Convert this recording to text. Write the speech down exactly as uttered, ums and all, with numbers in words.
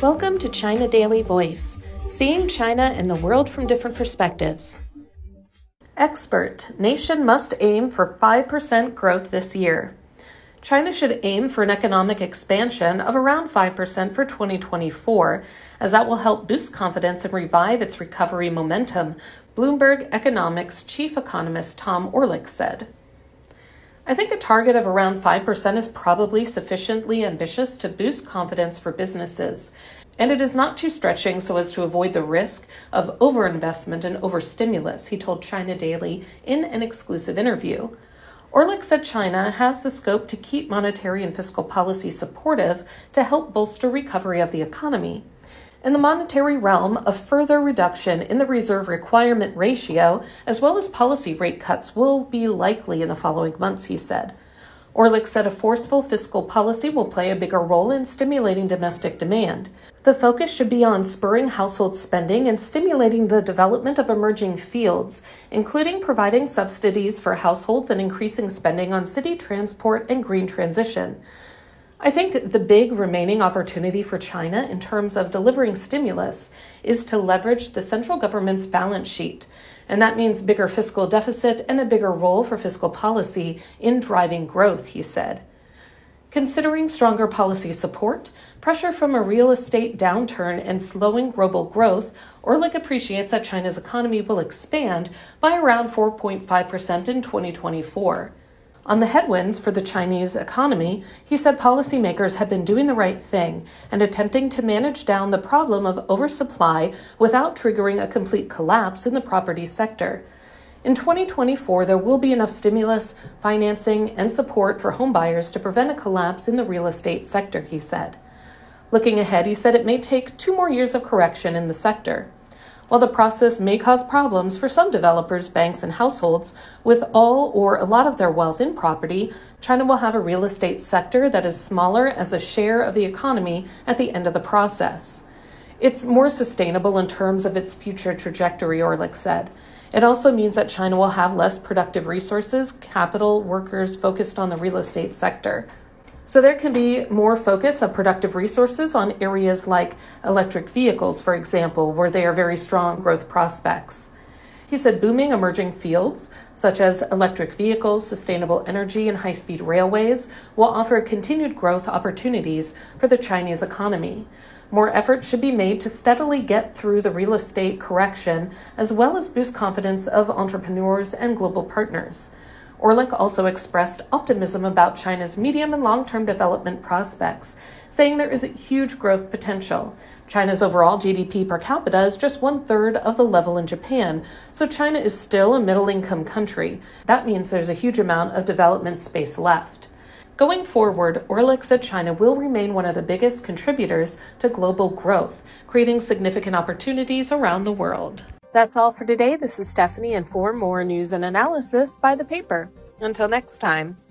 Welcome to China Daily Voice, seeing China and the world from different perspectives. Expert, nation must aim for five percent growth this year. China should aim for an economic expansion of around five percent for twenty twenty-four, as that will help boost confidence and revive its recovery momentum, Bloomberg Economics chief economist Tom Orlik said. I think a target of around five percent is probably sufficiently ambitious to boost confidence for businesses, and it is not too stretching so as to avoid the risk of overinvestment and overstimulus, he told China Daily in an exclusive interview. Orlik said China has the scope to keep monetary and fiscal policy supportive to help bolster recovery of the economy. In the monetary realm, a further reduction in the reserve requirement ratio, as well as policy rate cuts, will be likely in the following months, he said. Orlik said a forceful fiscal policy will play a bigger role in stimulating domestic demand. The focus should be on spurring household spending and stimulating the development of emerging fields, including providing subsidies for households and increasing spending on city transport and green transition. I think the big remaining opportunity for China in terms of delivering stimulus is to leverage the central government's balance sheet, and that means bigger fiscal deficit and a bigger role for fiscal policy in driving growth, he said. Considering stronger policy support, pressure from a real estate downturn, and slowing global growth, Orlik appreciates that China's economy will expand by around four point five percent in twenty twenty-four. On the headwinds for the Chinese economy, he said policymakers had been doing the right thing and attempting to manage down the problem of oversupply without triggering a complete collapse in the property sector. In twenty twenty-four, there will be enough stimulus, financing, and support for homebuyers to prevent a collapse in the real estate sector, he said. Looking ahead, he said it may take two more years of correction in the sector. While the process may cause problems for some developers, banks, and households with all or a lot of their wealth in property, China will have a real estate sector that is smaller as a share of the economy at the end of the process. It's more sustainable in terms of its future trajectory, Orlik said. It also means that China will have less productive resources, capital, workers focused on the real estate sector. So there can be more focus of productive resources on areas like electric vehicles, for example, where they are very strong growth prospects. He said booming emerging fields, such as electric vehicles, sustainable energy, and high-speed railways, will offer continued growth opportunities for the Chinese economy. More effort should be made to steadily get through the real estate correction, as well as boost confidence of entrepreneurs and global partners. Orlik also expressed optimism about China's medium and long-term development prospects, saying there is a huge growth potential. China's overall G D P per capita is just one-third of the level in Japan, so China is still a middle-income country. That means there's a huge amount of development space left. Going forward, Orlik said China will remain one of the biggest contributors to global growth, creating significant opportunities around the world. That's all for today. This is Stephanie, and for more news and analysis, buy the paper. Until next time.